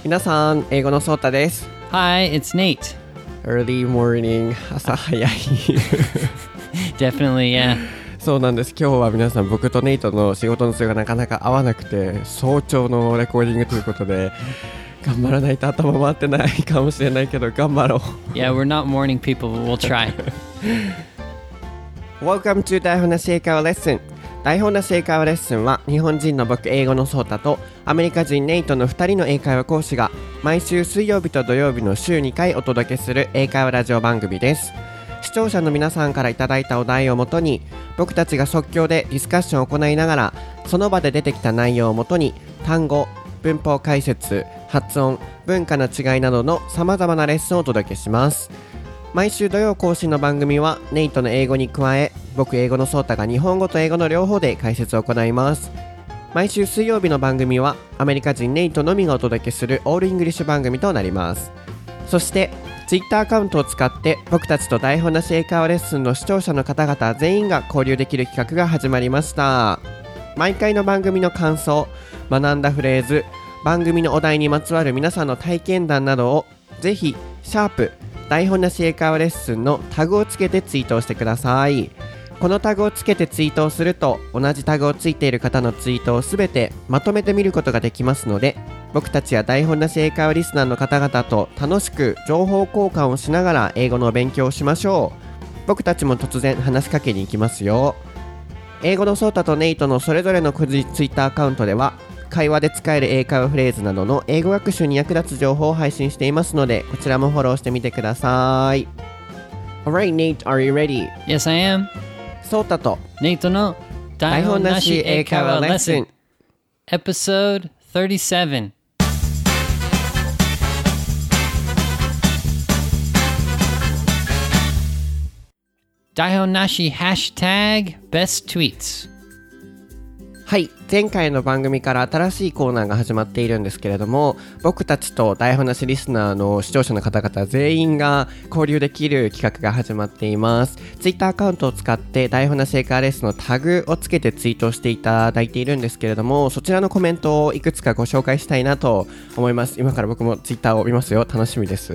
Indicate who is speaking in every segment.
Speaker 1: 皆さん、英語のソータです。
Speaker 2: Hi, it's Nate.
Speaker 1: Early morning 朝早い
Speaker 2: Definitely, yeah.
Speaker 1: そうなんです。今日は皆さん、僕とネイトの仕事の都合がなかなか合わなくて、早朝のレコーディングということで頑張らないと頭回ってないかもしれないけど頑張ろう。
Speaker 2: Yeah, we're not morning people, but we'll try.
Speaker 1: Welcome to 台本なし英会話レッスン。台本なし英会話レッスンは日本人の僕、英語のソータとアメリカ人ネイトの2人の英会話講師が毎週水曜日と土曜日の週2回お届けする英会話ラジオ番組です。視聴者の皆さんからいただいたお題をもとに僕たちが即興でディスカッションを行いながらその場で出てきた内容をもとに単語、文法解説、発音、文化の違いなどの様々なレッスンをお届けします。毎週土曜更新の番組はネイトの英語に加え僕英語のソータが日本語と英語の両方で解説を行います。毎週水曜日の番組はアメリカ人ネイトのみがお届けするオールイングリッシュ番組となります。そしてツイッターアカウントを使って僕たちと台本なし英会話レッスンの視聴者の方々全員が交流できる企画が始まりました。毎回の番組の感想、学んだフレーズ、番組のお題にまつわる皆さんの体験談などをぜひシャープ台本なし英会話レッスンのタグをつけてツイートをしてください。このタグをつけてツイートをすると同じタグをついている方のツイートをすべてまとめて見ることができますので僕たちや台本なし英会話リスナーの方々と楽しく情報交換をしながら英語の勉強をしましょう。僕たちも突然話しかけに行きますよ。英語のソータとネイトのそれぞれの個人ツイッターアカウントでは会話で使える英会話フレーズなどの英語学習に役立つ情報を配信していますのでこちらもフォローしてみてください。 Alright Nate, are you ready?
Speaker 2: Yes, I am.
Speaker 1: ソータと
Speaker 2: Nate の台本なし英会話レッスン Episode 37。台本なしハッシュタグ Best Tweets。
Speaker 1: はい、前回の番組から新しいコーナーが始まっているんですけれども僕たちと台本なしリスナーの視聴者の方々全員が交流できる企画が始まっています。ツイッターアカウントを使って台本なし英会話レッスンのタグをつけてツイートしていただいているんですけれどもそちらのコメントをいくつかご紹介したいなと思います。今から僕もツイッターを見ますよ。楽しみです。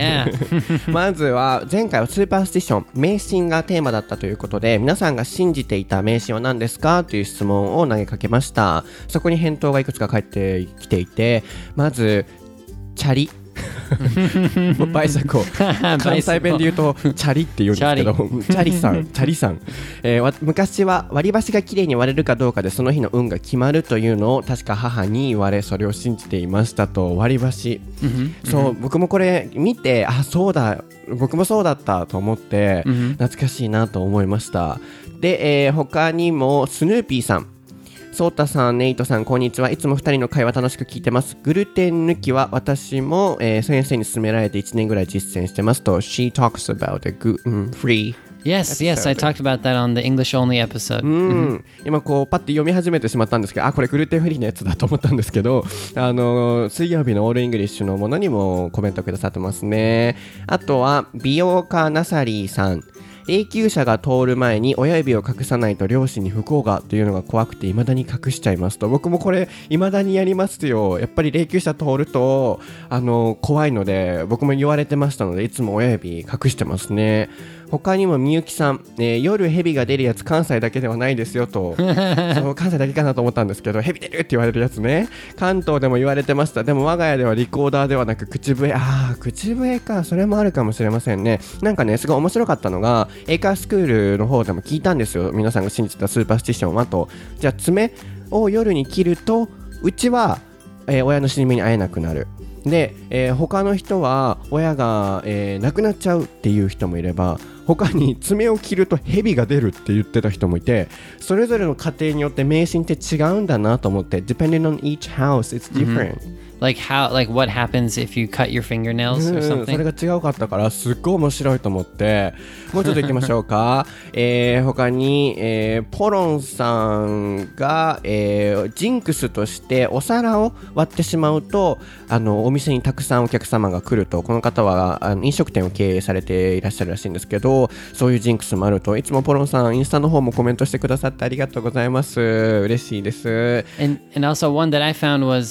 Speaker 2: Yeah.
Speaker 1: まずは前回はスーパースティション迷信がテーマだったということで皆さんが信じていた迷信は何ですかという質問を投げかけました。そこに返答がいくつか返ってきていてまずチャリバイサコ関西弁で言うとチャリって言うんですけどチャリさん、昔は割り箸がきれいに割れるかどうかでその日の運が決まるというのを確か母に言われそれを信じていましたと。割り箸、そう僕もこれ見てそうだ僕もそうだったと思って懐かしいなと思いました。で、他にもスヌーピーさんソータさん、ネイトさん、こんにちは。いつも2人の会話楽しく聞いてます。グルテン抜きは私も、先生に勧められて1年ぐらい実践してますと。She talks about a free
Speaker 2: Yes, I talked about that on the English only episode.
Speaker 1: 今こうパッて読み始めてしまったんですけどこれグルテンフリーのやつだと思ったんですけど水曜日のオールイングリッシュのものにもコメントくださってますね。あとは美容家ナサリーさん霊柩車が通る前に親指を隠さないと両親に不幸がというのが怖くて未だに隠しちゃいますと。僕もこれ未だにやりますよ。やっぱり霊柩車通ると怖いので僕も言われてましたのでいつも親指隠してますね。他にもみゆきさん、夜蛇が出るやつ関西だけではないですよとそう関西だけかなと思ったんですけど蛇出るって言われるやつね関東でも言われてました。でも我が家ではリコーダーではなく口笛口笛かそれもあるかもしれませんね。なんかねすごい面白かったのが英会話スクールの方でも聞いたんですよ。皆さんが信じてたスーパースティションはとじゃあ爪を夜に切るとうちは、親の死に目に会えなくなるで、他の人は親が、亡くなっちゃうっていう人もいれば他に爪を切ると蛇が出るって言ってた人もいてそれぞれの家庭によって迷信って違うんだなと思って Depending on each house it's different、Like
Speaker 2: what happens if you cut your fingernails or something?
Speaker 1: それが違うかったからすっごい面白いと思ってもうちょっと行きましょうか、他に、ポロンさんが、ジンクスとしてお皿を割ってしまうとお店にたくさんお客様が来ると。この方は飲食店を経営されていらっしゃるらしいんですけどそういうジンクスもあると。いつもポロンさんインスタの方もコメントしてくださってありがとうございます。嬉しいです。
Speaker 2: And also one that I found was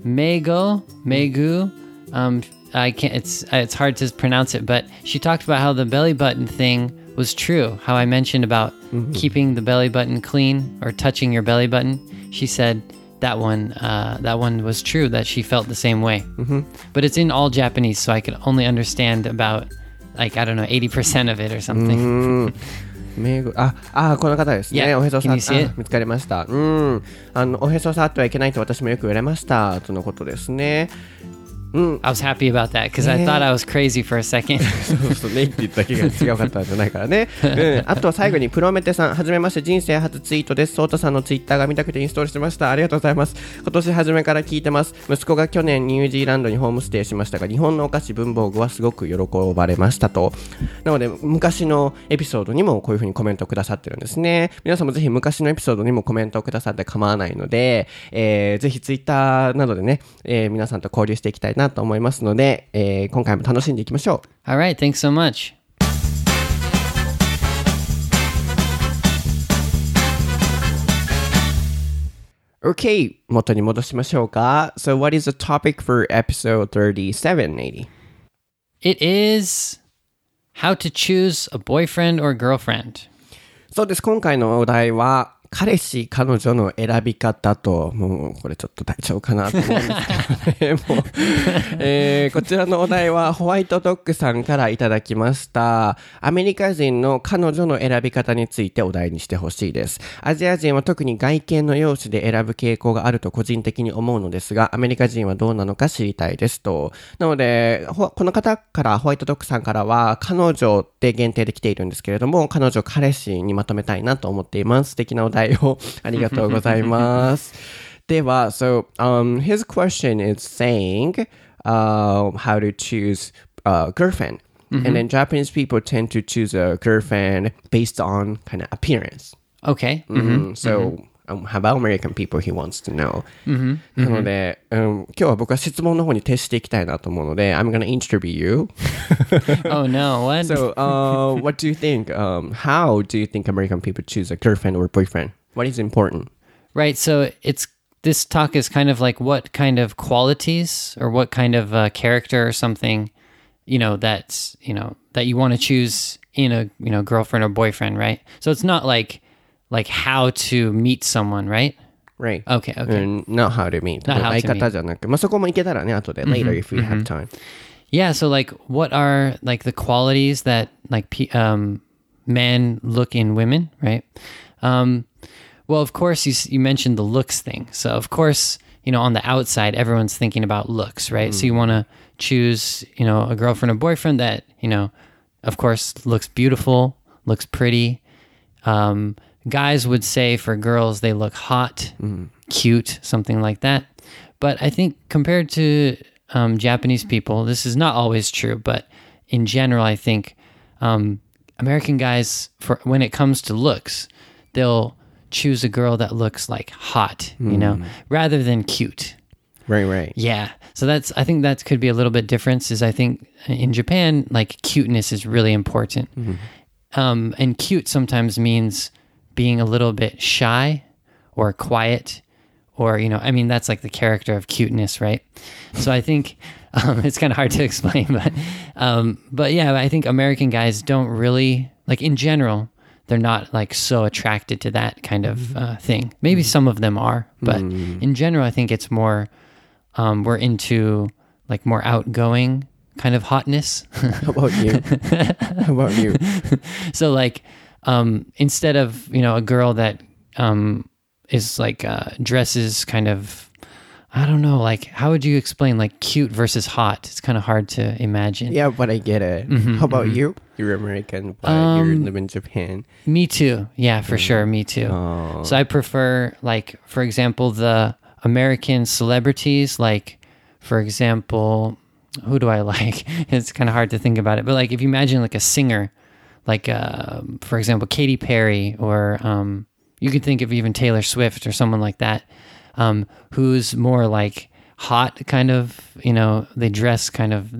Speaker 2: Megu. I can't. It's hard to pronounce it, but she talked about how the belly button thing was true. How I mentioned about keeping the belly button clean or touching your belly button. She said that one was true. That she felt the same way. But it's in all Japanese, so I could only understand about 80% of it or something.
Speaker 1: この方ですね。
Speaker 2: Yeah.
Speaker 1: おへそさ
Speaker 2: Can
Speaker 1: ん
Speaker 2: you see it?
Speaker 1: 見つかりました。おへそ触ってはいけないと私もよく言われましたとのことですね。
Speaker 2: I was happy about that because I thought I was crazy for a second.
Speaker 1: そうねって言っただけが違かったんじゃないからね。あとは最後にプロメテさん、はじめまして、人生初ツイートです。ソータさんのツイッターが見たくてインストールしました。ありがとうございます。今年初めから聞いてます。息子が去年ニュージーランドにホームステイしましたが、日本のお菓子文房具はすごく喜ばれましたと。なので昔のエピソードにもこういう風にコメントくださってるんですね。皆さんもぜひ昔のエピソードにもコメントをくださって構わないので、ぜひツイッターなどでね、皆さんと交流していきたいなと思いますので、今回も楽しんでいきましょう。
Speaker 2: All right, thanks so much.
Speaker 1: Okay, 元に戻しましょうか。So what is the topic for episode 37, Nady?
Speaker 2: It is how to choose a boyfriend or girlfriend.
Speaker 1: そうです。今回のお題は彼氏彼女の選び方と、もうこれちょっと大丈夫かなと思うんですけどね。もうこちらのお題はホワイトドッグさんからいただきました。アメリカ人の彼女の選び方についてお題にしてほしいです。アジア人は特に外見の容姿で選ぶ傾向があると個人的に思うのですが、アメリカ人はどうなのか知りたいですと。なのでこの方からホワイトドッグさんからは彼女って限定で来ているんですけれども、彼女彼氏にまとめたいなと思っています。素敵なお題をありがとうございます。では、so his question is saying how to choose a girlfriend. And then Japanese people tend to choose a girlfriend based on kind of appearance.
Speaker 2: Okay.
Speaker 1: So how about American people he wants to know. なので、今日は僕は質問の方に徹していきたいなと思うので、I'm gonna interview you.
Speaker 2: Oh no, what?
Speaker 1: So, what do you think? How do you think American people choose a girlfriend or boyfriend? What is important?
Speaker 2: Right, so this talk is kind of like what kind of qualities or what kind of character or something, that you want to choose in a, girlfriend or boyfriend, right? So it's not like how to meet someone, right?
Speaker 1: Right.
Speaker 2: Okay.
Speaker 1: Not how to meet.
Speaker 2: Not how to meet.
Speaker 1: 相方じゃなく、そこもいけたらね、後で later if we have time.
Speaker 2: Yeah, so what are the qualities that men look in women, right? Well, of course, you mentioned the looks thing. So, of course, on the outside, everyone's thinking about looks, right? So you want to choose, a girlfriend or boyfriend that, of course, looks beautiful, looks pretty. Guys would say for girls, they look hot, cute, something like that. But I think compared to Japanese people, this is not always true, but in general, I think American guys, when it comes to looks, they'll choose a girl that looks like hot, rather than cute.
Speaker 1: Right.
Speaker 2: Yeah. So I think that could be a little bit difference is I think in Japan, cuteness is really important. And cute sometimes means being a little bit shy or quiet or, that's the character of cuteness, right? So I think it's kind of hard to explain, but yeah, I think American guys don't really, in general, they're not so attracted to that kind of thing. Maybe some of them are, but in general, I think it's more, we're into more outgoing kind of hotness.
Speaker 1: How about you?
Speaker 2: So instead of, a girl that is dresses kind of, I don't know, how would you explain cute versus hot? It's kind of hard to imagine.
Speaker 1: Yeah, but I get it. How about you? You're American, but you live in Japan.
Speaker 2: Me too. Yeah, for sure. Me too.
Speaker 1: Oh.
Speaker 2: So I prefer, for example, the American celebrities, for example, who do I like? It's kind of hard to think about it. But if you imagine a singer, for example, Katy Perry, or you could think of even Taylor Swift or someone like that, who's more hot kind of, they dress kind of,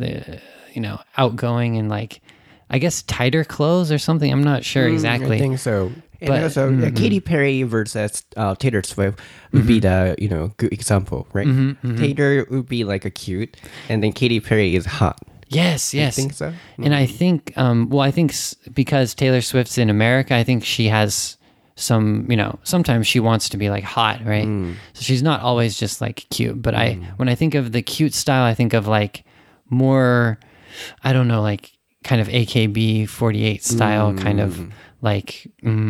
Speaker 2: outgoing and I guess tighter clothes or something. I'm not sure exactly.
Speaker 1: I think so. And also, Katy Perry versus Taylor Swift would be the, good example, right? Taylor would be like a cute, and then Katy Perry is hot.
Speaker 2: Yes.
Speaker 1: I think so.
Speaker 2: And I think, because Taylor Swift's in America, I think she has some, sometimes she wants to be like hot, right? So she's not always just like cute. But when I think of the cute style, I think of like more, I don't know, like kind of AKB48 style, kind of like,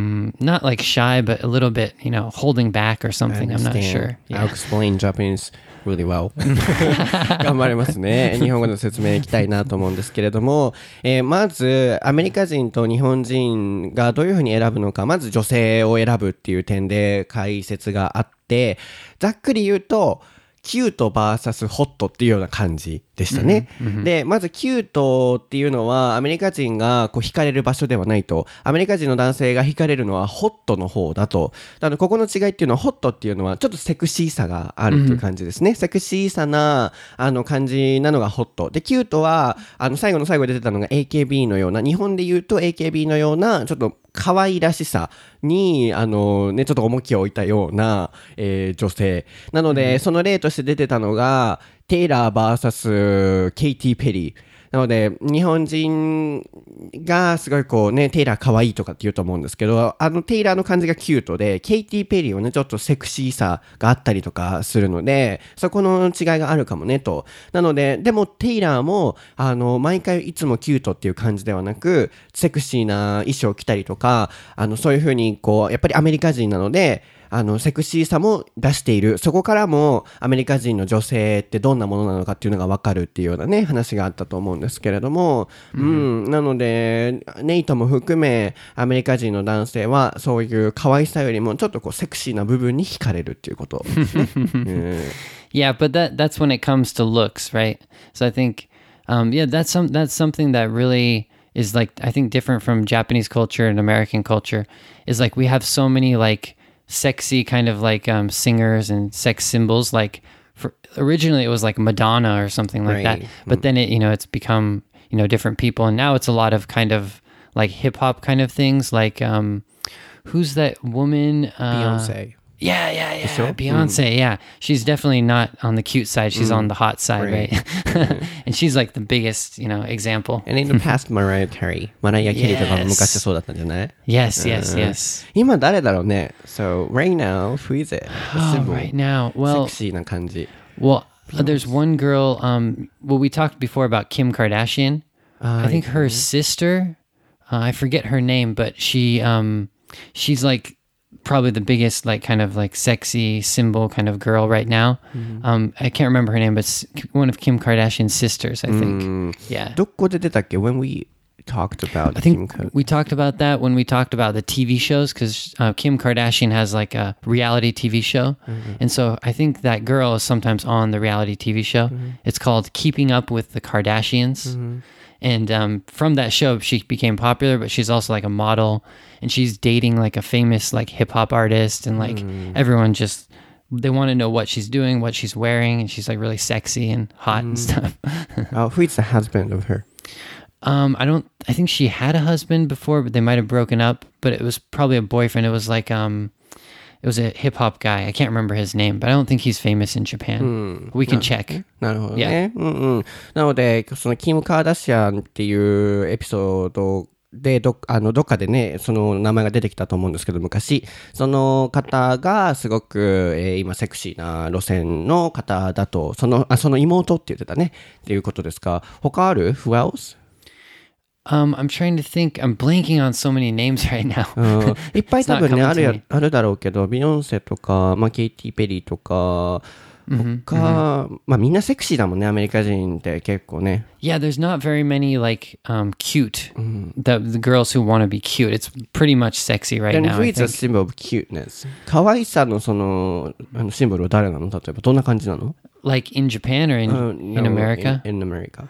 Speaker 2: not like shy, but a little bit, holding back or something. I'm not sure.
Speaker 1: I'll explain Japanese really well. 頑張りますね。日本語の説明いきたいなと思うんですけれども、まずアメリカ人と日本人がどういうふうに選ぶのか、まず女性を選ぶっていう点で解説があって、ざっくり言うとキュート vs ホットっていうような感じでしたね。で、まずキュートっていうのはアメリカ人がこう惹かれる場所ではないと。アメリカ人の男性が惹かれるのはホットの方だと。ここの違いっていうのはホットっていうのはちょっとセクシーさがあるっていう感じですね。セクシーさな感じなのがホット。で、キュートは最後の最後で出てたのが AKB のような、日本で言うと AKB のようなちょっと可愛らしさに、ちょっと重きを置いたような、女性。なので、その例として出てたのが、テイラー vs ケイティ・ペリー。なので、日本人がすごいこうね、テイラー可愛いとかって言うと思うんですけど、テイラーの感じがキュートで、ケイティ・ペリーはね、ちょっとセクシーさがあったりとかするので、そこの違いがあるかもね、と。なので、でもテイラーも、毎回いつもキュートっていう感じではなく、セクシーな衣装を着たりとか、そういう風にこう、やっぱりアメリカ人なので、セクシーさも出している。そこからもアメリカ人の女性ってどんなものなのかっていうのがわかるっていうようなね、話があったと思うんですけれども、なので、ネイトも含め、アメリカ人の男性はそういう可愛さよりもちょっとこうセクシーな部分に惹かれるっていうことですね。
Speaker 2: Yeah, but that's when it comes to looks, right? So I think, that's something that really is like, I think different from Japanese culture and American culture is like we have so many like sexy kind of like singers and sex symbols. Like originally it was like Madonna or something like that, but then it's become different people, and now it's a lot of kind of like hip hop kind of things. Like who's that woman?
Speaker 1: Beyonce.
Speaker 2: Yeah. Beyonce, yeah. She's definitely not on the cute side. She's on the hot side, right? And she's like the biggest, example.
Speaker 1: And in the past, Mariah Carey とかも昔そうだったんじゃない?
Speaker 2: Yes.
Speaker 1: 今誰だろうね? So, right now, who is it?
Speaker 2: Right now, well...
Speaker 1: セクシーな感じ.
Speaker 2: Well, there's one girl, we talked before about Kim Kardashian. I think her sister, I forget her name, but she's like... probably the biggest like kind of like sexy symbol kind of girl right now. I can't remember her name, but one of Kim Kardashian's sisters, I think. Yeah.
Speaker 1: どこで出たっけ? When we talked about
Speaker 2: I think we talked about that when we talked about the TV shows, because Kim Kardashian has like a reality TV show. And so I think that girl is sometimes on the reality TV show. It's called Keeping Up with the Kardashians. And from that show, she became popular, but she's also like a model, and she's dating like a famous like hip hop artist, and like everyone just, they want to know what she's doing, what she's wearing, and she's like really sexy and hot and stuff.
Speaker 1: Who is the husband of her?
Speaker 2: I think she had a husband before, but they might have broken up, but it was probably a boyfriend. It was like, it was a hip hop guy. I can't remember his name, but I don't think he's famous in Japan. We can check.
Speaker 1: なるほどね。なので、そのキム・カーダシアンっていうエピソードでどっかでね、その名前が出てきたと思うんですけど、昔、その方がすごく、今セクシーな路線の方だと、その妹って言ってたね、っていうことですか。他ある? Who else?
Speaker 2: I'm trying to think. I'm blanking on so many names right now.
Speaker 1: いっぱい多分ね、あるだろうけど、ビヨンセとか、ケイティ・ペリーとか、他、みんなセクシーだもんね、アメリカ人って結構ね。
Speaker 2: Yeah, there's not very many like cute, the girls who want to be cute. It's pretty much sexy right now.
Speaker 1: Then who is a symbol of cuteness? 可愛さのそのシンボルは誰なの? 例えばどんな感じなの?
Speaker 2: Like in Japan or in America?
Speaker 1: In America.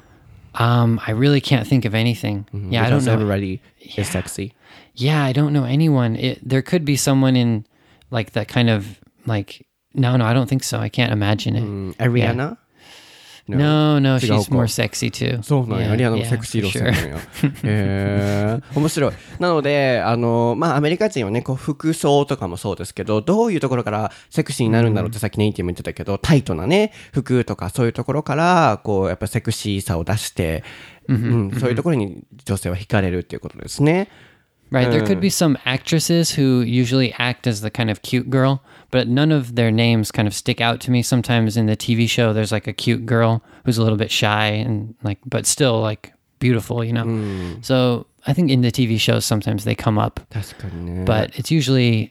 Speaker 2: I really can't think of anything. Yeah, I don't know.
Speaker 1: Everybody is sexy.
Speaker 2: Yeah, I don't know anyone. There could be someone in like that kind of like, no, I don't think so. I can't imagine it.
Speaker 1: Ariana?
Speaker 2: No, no,
Speaker 1: 違う
Speaker 2: she's
Speaker 1: か
Speaker 2: more sexy too.
Speaker 1: そうなんや、
Speaker 2: Yeah,
Speaker 1: リアナも
Speaker 2: yeah,
Speaker 1: セクシー
Speaker 2: for
Speaker 1: 路線なんや。面白い。なので、まあ、アメリカ人はね、こう、服装とかもそうですけど、どういうところからセクシーになるんだろうってさっきネイティブも言ってたけど、タイトなね、服とかそういうところから、こう、やっぱセクシーさを出して、そういうところに女性は惹かれるっていうことですね。
Speaker 2: Right. There could be some actresses who usually act as the kind of cute girl, but none of their names kind of stick out to me. Sometimes in the TV show, there's like a cute girl who's a little bit shy and like, but still like beautiful, you know? So I think in the TV shows, sometimes they come up,
Speaker 1: 確かにね。
Speaker 2: but it's usually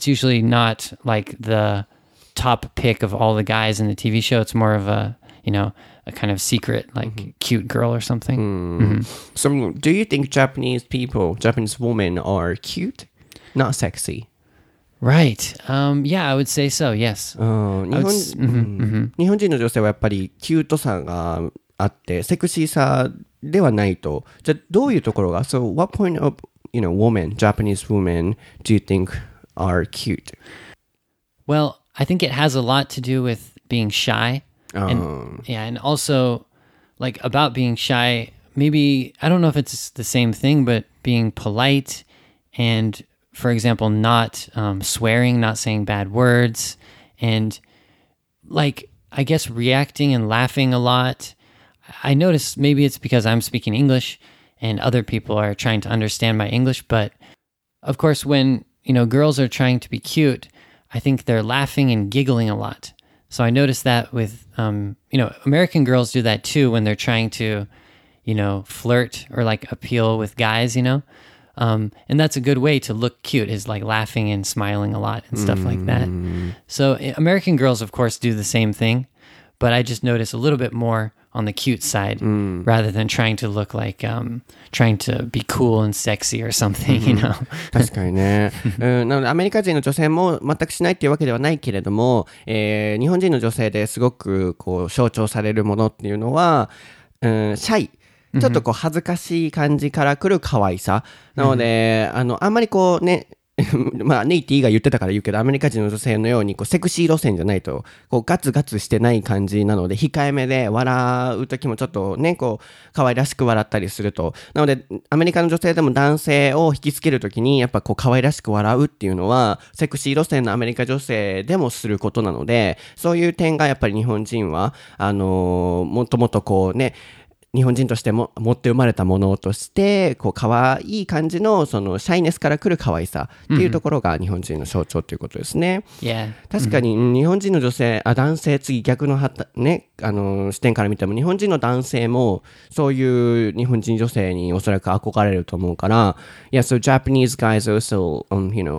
Speaker 2: not like the top pick of all the guys in the TV show. It's more of a, you know, a kind of secret, like cute girl or something.
Speaker 1: So, do you think Japanese women are cute? Not sexy?
Speaker 2: Right. Yeah, I would say so. Yes.
Speaker 1: 日本人の女性はやっぱりキュートさがあってセクシーさではないと。じゃあどういうところが So what point of Japanese women do you think are cute?
Speaker 2: Well, I think it has a lot to do with being shy. And also like about being shy, maybe I don't know if it's the same thing, but being polite and for example, not swearing, not saying bad words, and like, I guess reacting and laughing a lot. I notice maybe it's because I'm speaking English and other people are trying to understand my English. But of course, when, girls are trying to be cute, I think they're laughing and giggling a lot. So I noticed that with, American girls do that too when they're trying to, flirt or like appeal with guys, and that's a good way to look cute is like laughing and smiling a lot and stuff like that. So American girls, of course, do the same thing, but I just notice a little bit more on the cute side rather than trying to look like trying to be cool and sexy or something,
Speaker 1: 確かにね。なのでアメリカ人の女性も全くしないっていうわけではないけれども、日本人の女性ですごくこう象徴されるものっていうのは、シャイ。ちょっとこう恥ずかしい感じから来る可愛さ。なので、あんまりこうね、まあネイティが言ってたから言うけど、アメリカ人の女性のようにこうセクシー路線じゃないと、こうガツガツしてない感じなので、控えめで笑う時もちょっとね、こう可愛らしく笑ったりすると。なので、アメリカの女性でも男性を引きつける時に、やっぱこう可愛らしく笑うっていうのは、セクシー路線のアメリカ女性でもすることなので、そういう点がやっぱり日本人は、もっともっとこうね、日本人としても持って生まれたものとしてこう可愛い感じのそのシャイネスから来る可愛さっていうところが日本人の象徴ということですね。確かに日本人の男性次逆のね視点から見ても日本人の男性もそういう日本人女性におそらく憧れると思うから、so Japanese guys also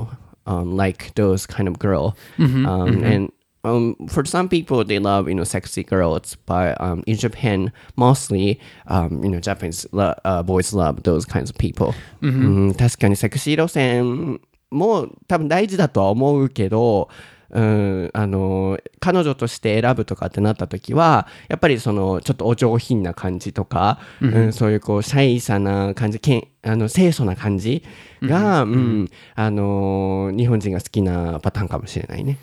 Speaker 1: like those kind of girl, and for some people, they love, sexy girls, but in Japan, mostly, Japanese boys love those kinds of people. 確かにセクシー路線も多分大事だとは思うけど、彼女として選ぶとかってなった時はやっぱりそのちょっとお上品な感じとか、そういうこうシャイさな感じ清楚な感じが、日本人が好きなパターンかもしれないね。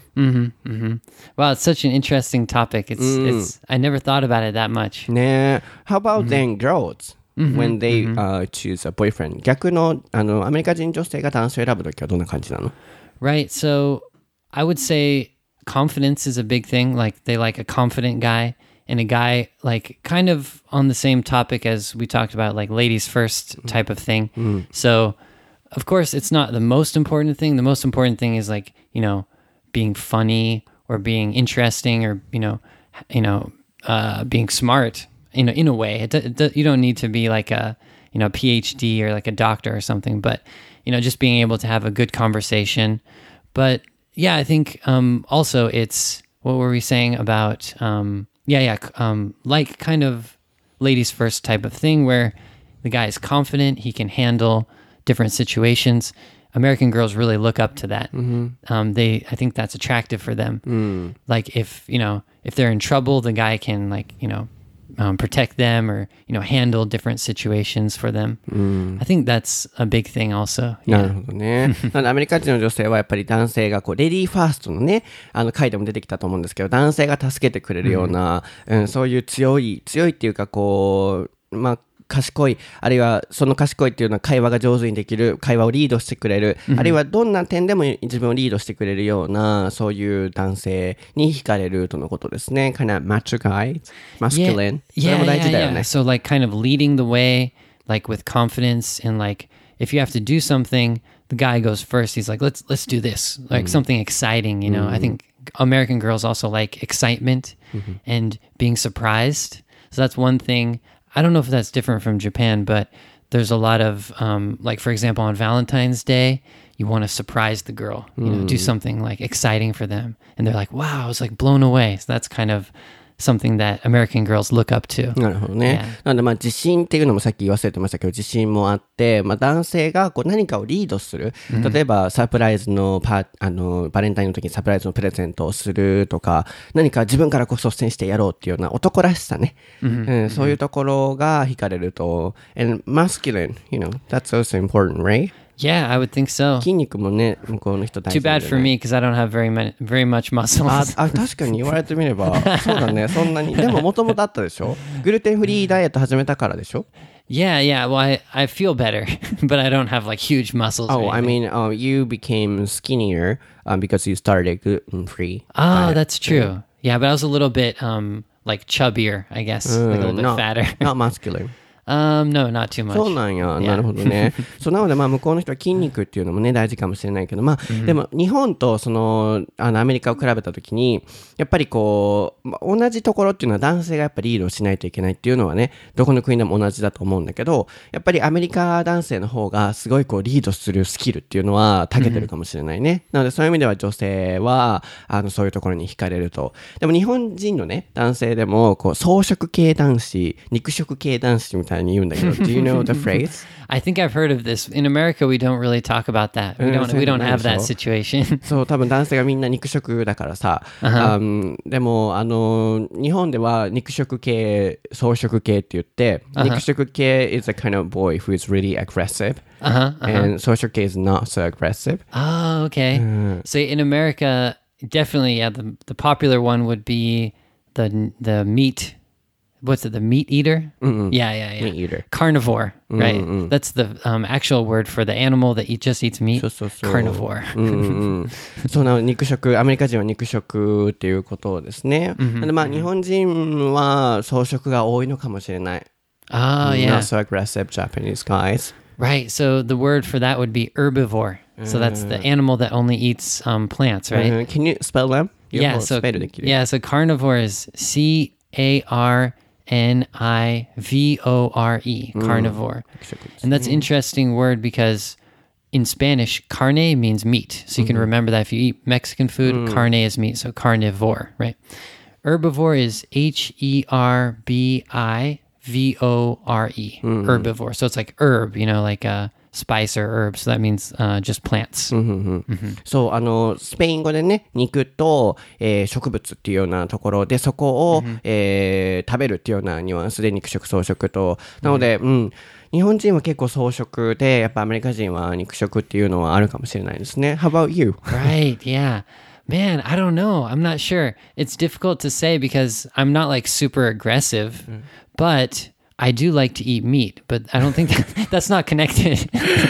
Speaker 2: Wow, it's such an interesting topic. It's I never thought about it that much.
Speaker 1: ね。How about then girls? When they choose a boyfriend. 逆のアメリカ人女性が男性を選ぶ時はどんな感じなの？
Speaker 2: Right, so I would say confidence is a big thing. Like they like a confident guy and a guy like kind of on the same topic as we talked about, like ladies first type of thing. So of course it's not the most important thing. The most important thing is like, being funny or being interesting or, being smart in a way. You don't need to be like a, PhD or like a doctor or something, but, just being able to have a good conversation. But yeah, I think also it's what were we saying about like kind of ladies first type of thing where the guy is confident, he can handle different situations. American girls really look up to that. I think that's attractive for them. Like if they're in trouble, the guy can like, protect them or, handle different situations for them. I think that's a big thing also.
Speaker 1: なるほどね。なのでアメリカ人の女性はやっぱり男性がこうレディーファーストのね、回でも出てきたと思うんですけど、男性が助けてくれるような、そういう強いっていうかこう、賢い、あるいはその賢いっていうのは会話が上手にできる、会話をリードしてくれる、あるいはどんな点でも自分をリードしてくれるような、そういう男性に惹かれるとのことですね。kind of macho guy, masculine. それも大事だよね。
Speaker 2: So like kind of leading the way, like with confidence and like if you have to do something, the guy goes first. He's like, let's do this, like something exciting. I think American girls also like excitement and being surprised. So that's one thing. I don't know if that's different from Japan, but there's a lot of, like, for example, on Valentine's Day, you want to surprise the girl, do something like exciting for them. And they're like, wow, I was like blown away. So that's kind of something that American girls look up to.
Speaker 1: なるほどね。なので自信っていうのもさっき言わせてましたけど、自信もあって、男性がこう何かをリードする。例えばサプライズのバレンタインの時にサプライズのプレゼントをするとか、何か自分からこう率先してやろうっていうような男らしさね。そういうところが惹かれると。And masculine, that's also important, right?
Speaker 2: Yeah, I would think so.
Speaker 1: 筋肉もね、向こうの人大事
Speaker 2: Too
Speaker 1: なんで、ね。
Speaker 2: bad for me because I don't have very much muscles.
Speaker 1: 確かに言われてみれば、そうだね、そんなに。でももともとあったでしょ？グルテンフリーダイエット始めたからでしょ？
Speaker 2: Yeah. Well, I feel better, but I don't have like huge muscles.
Speaker 1: Oh, I mean, you became skinnier because you started gluten-free.
Speaker 2: Oh, that's true. Yeah, but I was a little bit like chubbier, I guess. Like a little bit fatter.
Speaker 1: Not muscular.
Speaker 2: No, not too much.
Speaker 1: そうなんや。なるほどね。そうなので向こうの人は筋肉っていうのもね大事かもしれないけど、でも日本とアメリカを比べたときにやっぱりこう、同じところっていうのは男性がやっぱりリードしないといけないっていうのはね、どこの国でも同じだと思うんだけど、やっぱりアメリカ男性の方がすごいこうリードするスキルっていうのは長けてるかもしれないね。なのでそういう意味では女性はそういうところに惹かれると。でも日本人のね男性でもこう草食系男子、肉食系男子みたいなDo you know the phrase?
Speaker 2: I think I've heard of this. In America, we don't really talk about that. We don't have that situation.
Speaker 1: そう多分男性がみんな肉食だからさ、でも日本では肉食系、草食系って言って、肉食系 is a kind of boy who is really aggressive, and 草食系 is not so aggressive.
Speaker 2: Oh, okay. So in America, definitely, yeah, the popular one would be the meat. What's it? The meat eater? Yeah.
Speaker 1: Meat eater.
Speaker 2: Carnivore, right? That's the actual word for the animal that just eats meat.
Speaker 1: そう
Speaker 2: Carnivore.
Speaker 1: そうなの、肉食、アメリカ人は肉食っていうことですね。で日本人は草食が多いのかもしれない。
Speaker 2: Oh, yeah.
Speaker 1: Not so aggressive Japanese guys.
Speaker 2: Right. So the word for that would be herbivore. So that's the animal that only eats plants, right?
Speaker 1: Can you spell them?
Speaker 2: Yeah. So carnivore is C-A-R-N-I-V-O-R-E, carnivore. And that's an interesting word because in Spanish, carne means meat. So you can remember that if you eat Mexican food, carne is meat, so carnivore, right? Herbivore is H-E-R-B-I-V-O-R-E, herbivore. So it's like herb, like a spice or herb. So that means just plants.
Speaker 1: そう、スペイン語でね、肉と、植物っていうようなところで、そこを、食べるっていうようなニュアンスで肉食、草食と。なので、日本人は結構草食で、やっぱアメリカ人は肉食っていうのはあるかもしれないですね。How about you?
Speaker 2: Right, yeah. Man, I don't know. I'm not sure. It's difficult to say because I'm not like super aggressive, but I do like to eat meat, but I don't think that's not connected.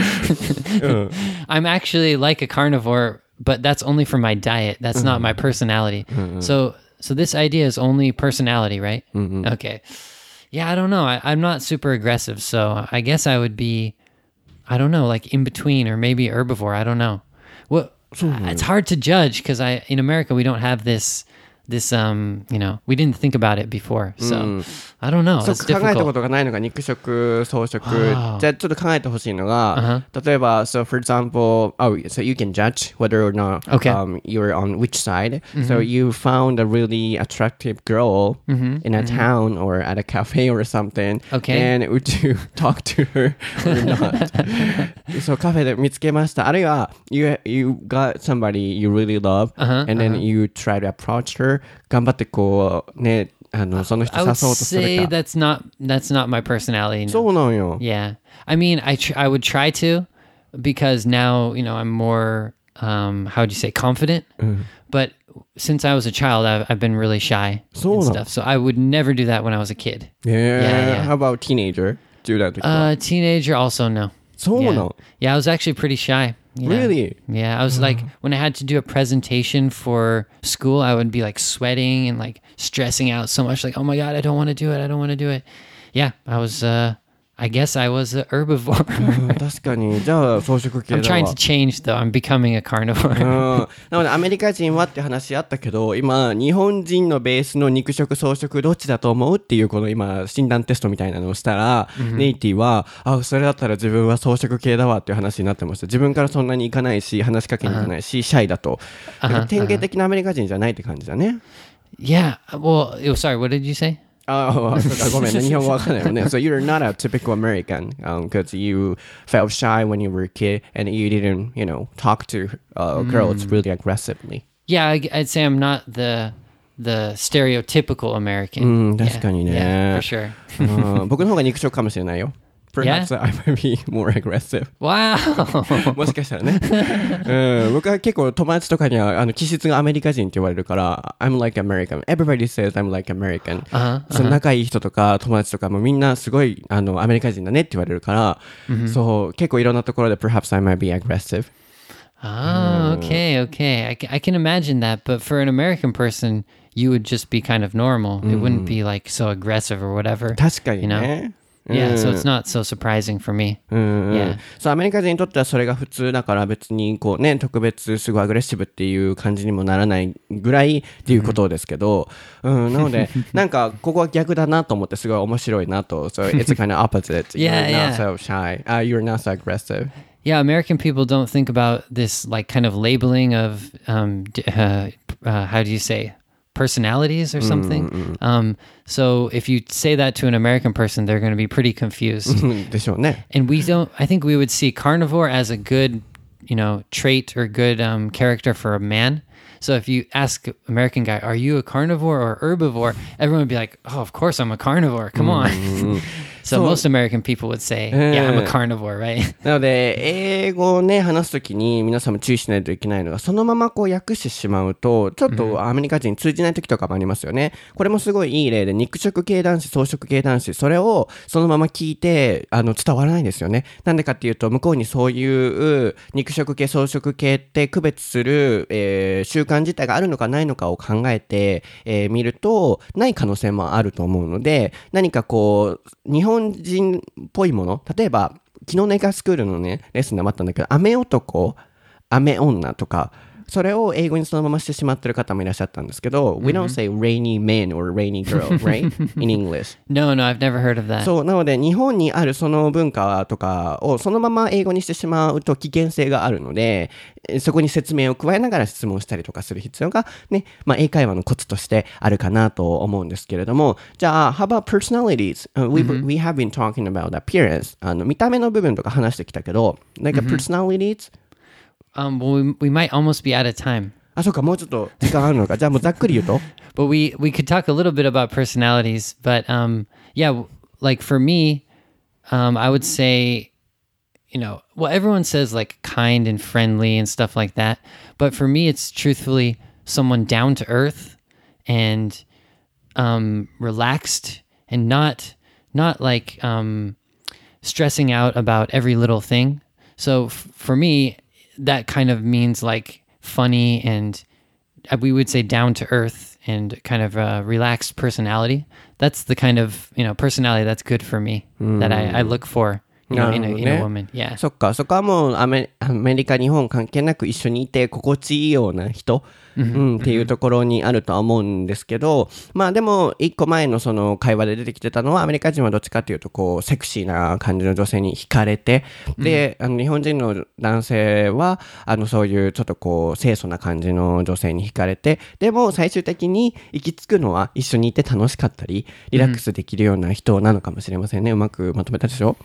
Speaker 2: I'm actually like a carnivore, but that's only for my diet. That's not my personality. So this idea is only personality, right? Okay. Yeah, I don't know. I'm not super aggressive, so I guess I would be, I don't know, like in between or maybe herbivore. I don't know. It's hard to judge because in America we don't have this we didn't think about it before, so I don't know.
Speaker 1: そう
Speaker 2: It's
Speaker 1: 考えたこ
Speaker 2: difficult.
Speaker 1: とがないのが肉食、草食。じゃあちょっと考えてほしいのが、例えば、so for example, so you can judge whether or not you're on which side. So you found a really attractive girl in a town or at a cafe or something.
Speaker 2: Okay.
Speaker 1: And would you talk to her or not? そうカフェで見つけました。あるいは you got somebody you really love, and then you try to approach her. 頑張ってこうね、 その人
Speaker 2: I
Speaker 1: 誘おう
Speaker 2: would
Speaker 1: とする
Speaker 2: say
Speaker 1: か。
Speaker 2: that's not my personality. No.
Speaker 1: そうなんよ。
Speaker 2: Yeah. I mean, I would try to because now, I'm more, how would you say, confident. But since I was a child, I've been really shy
Speaker 1: So
Speaker 2: and
Speaker 1: no.
Speaker 2: stuff. So I would never do that when I was a kid.
Speaker 1: Yeah.
Speaker 2: yeah.
Speaker 1: How about teenager? 10代の時は。
Speaker 2: Teenager also no.
Speaker 1: そうな
Speaker 2: Yeah.
Speaker 1: の
Speaker 2: Yeah, I was actually pretty shy. Yeah.
Speaker 1: Really?
Speaker 2: Yeah, I was like, when I had to do a presentation for school, I would be like sweating and like stressing out so much. Like, oh my God, I don't want to do it. I don't want to do it. Yeah, I guess I was a herbivore.
Speaker 1: 確かに。じゃあ、草食系
Speaker 2: I'm
Speaker 1: だ
Speaker 2: trying
Speaker 1: わ
Speaker 2: to。change though. I'm becoming a carnivore.
Speaker 1: なのでアメリカ人はって話あったけど、今日本人のベースの肉食草食どっちだと思うっていうこの今診断テストみたいなのをしたら、ネイティはそれだったら自分は草食系だわっていう話になってました。自分からそんなに行かないし話しかけに行かないし、シャイだと。だから典型的なアメリカ人じゃないって感じだね。
Speaker 2: Yeah. Well, sorry, what did you say?
Speaker 1: そうかごめんね、日本語わかんないよね。So you're not a typical American because you felt shy when you were a kid and you didn't, talk to girls really aggressively.
Speaker 2: Yeah, I'd say I'm not the stereotypical American.
Speaker 1: 確かにね。
Speaker 2: Yeah, for sure.
Speaker 1: 僕の方が肉食かもしれないよ。Perhaps I might be more aggressive.
Speaker 2: Wow.
Speaker 1: もしかしたらね。僕は結構友達とかには気質がアメリカ人って言われるから、I'm like American. Everybody says I'm like American. その仲いい人とか友達とかもみんなすごいアメリカ人だねって言われるから、そう結構いろんなところで Perhaps I might be aggressive.
Speaker 2: Oh, okay. I can imagine that, but for an American person, you would just be kind of normal. It wouldn't be like so aggressive or whatever.
Speaker 1: 確かにね。
Speaker 2: Yeah, so it's not so surprising for me. Yeah.
Speaker 1: そうアメリカ人にとってはそれが普通だから別にこうね特別すごいアグレッシブっていう感じにもならないぐらいっていうことですけど、なのでなんかここは逆だなと思ってすごい面白いなと。So it's kind of opposite.
Speaker 2: Yeah,
Speaker 1: You're not
Speaker 2: yeah.
Speaker 1: so shy. You're not so aggressive.
Speaker 2: Yeah, American people don't think about this like kind of labeling of how do you say personalities or something. So if you say that to an American person, they're going to be pretty confused.
Speaker 1: でしょうね。
Speaker 2: And I think we would see carnivore as a good, trait or good character for a man. So if you ask an American guy, are you a carnivore or herbivore? Everyone would be like, oh, of course I'm a carnivore. Come on. So most American people would say, yeah, I'm a carnivore, right?
Speaker 1: なので英語をね話すときに皆さんも注意しないといけないのがそのままこう訳してしまうとちょっとアメリカ人に通じないときとかもありますよね。これもすごいいい例で肉食系男子草食系男子それをそのまま聞いて伝わらないんですよね。なんでかっていうと向こうにそういう肉食系草食系って区別する、習慣自体があるのかないのかを考えて、見るとない可能性もあると思うので何かこう日本人っぽいもの例えば昨日の英会話スクールのねレッスンでもあったんだけど雨男雨女とかそれを英語にそのまましてしまってる方もいらっしゃったんですけど、We don't say rainy man or rainy girl, right? In English.
Speaker 2: No, I've never heard of that.
Speaker 1: そうなので日本にあるその文化とかをそのまま英語にしてしまうと危険性があるのでそこに説明を加えながら質問したりとかする必要がね、英会話のコツとしてあるかなと思うんですけれども、じゃあ How about personalities? We have been talking about appearance. 見た目の部分とか話してきたけど、like personalities?
Speaker 2: Well, we might almost be out of time.
Speaker 1: そうか、もうちょっと時間あるのか。じゃあもうざっくり言うと
Speaker 2: But we could talk a little bit about personalities, but yeah, like for me, I would say, well, everyone says like kind and friendly and stuff like that, but for me, it's truthfully someone down to earth and relaxed and not like stressing out about every little thing. So for me, that kind of means like funny and we would say down to earth and kind of a relaxed personality. That's the kind of, personality that's good for me that I look for, in a woman. Yeah.
Speaker 1: そっか、そこはもうアメリカ、日本関係なく一緒にいて心地いいような人、っていうところにあるとは思うんですけど、でも一個前のその会話で出てきてたのはアメリカ人はどっちかというとこうセクシーな感じの女性に惹かれて、で、日本人の男性はそういうちょっとこう清楚な感じの女性に惹かれて、でも最終的に行き着くのは一緒にいて楽しかったりリラックスできるような人なのかもしれませんね。うまくまとめたでしょ？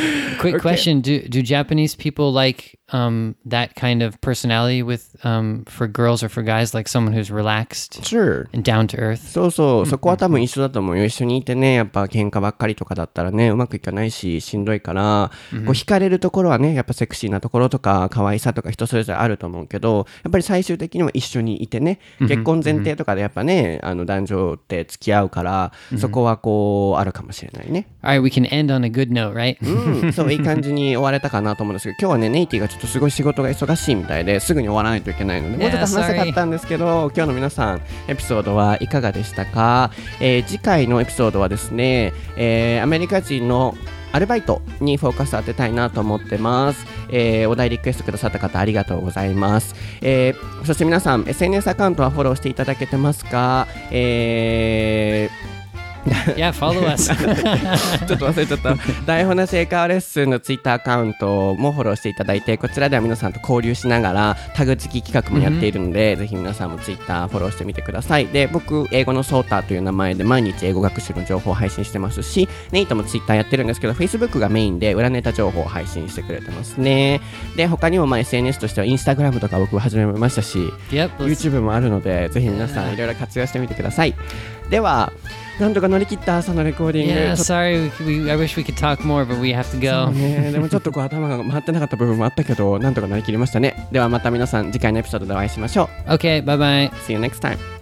Speaker 2: Quick question: Do Japanese people like that kind of personality with for girls or for guys, like someone who's relaxed
Speaker 1: Sure.
Speaker 2: and down to earth?
Speaker 1: そうそう、そこは多分一緒だと思うよ。一緒にいてね、やっぱ喧嘩ばっかりとかだったらね、うまくいかないし、しんどいから、こう惹かれるところはね、やっぱセクシーなところとか、可愛さとか人それぞれあると思うけど、やっぱり最終的には一緒にいてね、結婚前提とかでやっぱね、男女って付き合うから、そこはこう、あるかもしれないね。
Speaker 2: All right, we can end on a good note, right?
Speaker 1: うん、そう、いい感じに終われたかなと思うんですけど、今日はね、ネイティがちょっとすごい仕事が忙しいみたいですぐに終わらないといけないので、もうちょっと話したかったんですけど、今日の皆さん、エピソードはいかがでしたか？次回のエピソードはですね、アメリカ人のアルバイトにフォーカス当てたいなと思ってます。お題リクエストくださった方ありがとうございます。そして皆さん SNS アカウントはフォローしていただけてますか
Speaker 2: Yeah, follow us.
Speaker 1: ちょっと忘れちゃった。台本なし英会話レッスンのツイッターアカウントもフォローしていただいて、こちらでは皆さんと交流しながらタグ付き企画もやっているので、ぜひ皆さんもツイッターフォローしてみてください。で、僕英語のソーターという名前で毎日英語学習の情報を配信してますし、ネイトもツイッターやってるんですけど Facebook がメインで裏ネタ情報を配信してくれてますね。で、他にもSNS としては Instagram とか僕始めましたし、
Speaker 2: Yep,
Speaker 1: YouTube もあるので、ぜひ皆さんいろいろ活用してみてください。ではなんとか乗り切った朝のレコーディング。
Speaker 2: Yeah, sorry. I wish we could talk more, but we have to
Speaker 1: そう
Speaker 2: go.
Speaker 1: ね、でもちょっとこう頭が回ってなかった部分もあったけど、なんとか乗り切りましたね。ではまた皆さん次回のエピソードでお会いしましょう。
Speaker 2: Okay, bye bye.
Speaker 1: See you next time.